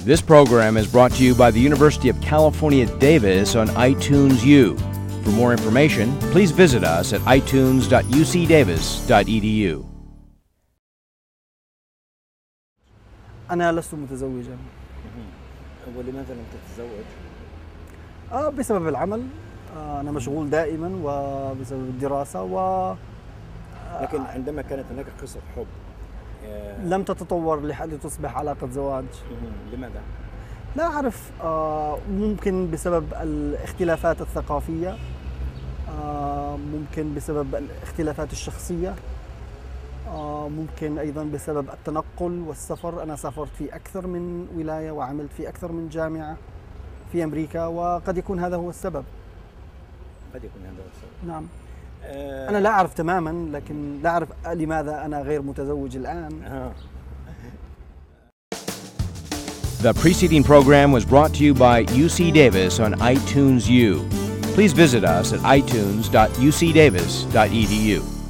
This program is brought to you by the University of California, Davis on iTunes U. For more information, please visit us at itunes.ucdavis.edu. أنا لست متزوجا. ولماذا لم تتزوج؟ بسبب العمل. أنا مشغول دائما وبسبب الدراسة لكن عندما كانت هناك قصة حب لم تتطور لتصبح علاقة زواج. لماذا؟ لا أعرف. ممكن بسبب الاختلافات الثقافية، ممكن بسبب الاختلافات الشخصية، ممكن أيضا بسبب التنقل والسفر. أنا سافرت في أكثر من ولاية وعملت في أكثر من جامعة في أمريكا، وقد يكون هذا هو السبب. قد يكون هذا هو السبب. نعم. أنا لا أعرف تماما، لكن لا أعرف لماذا أنا غير متزوج الآن. The preceding program was brought to you by UC Davis on iTunes U. Please visit us at itunes.ucdavis.edu.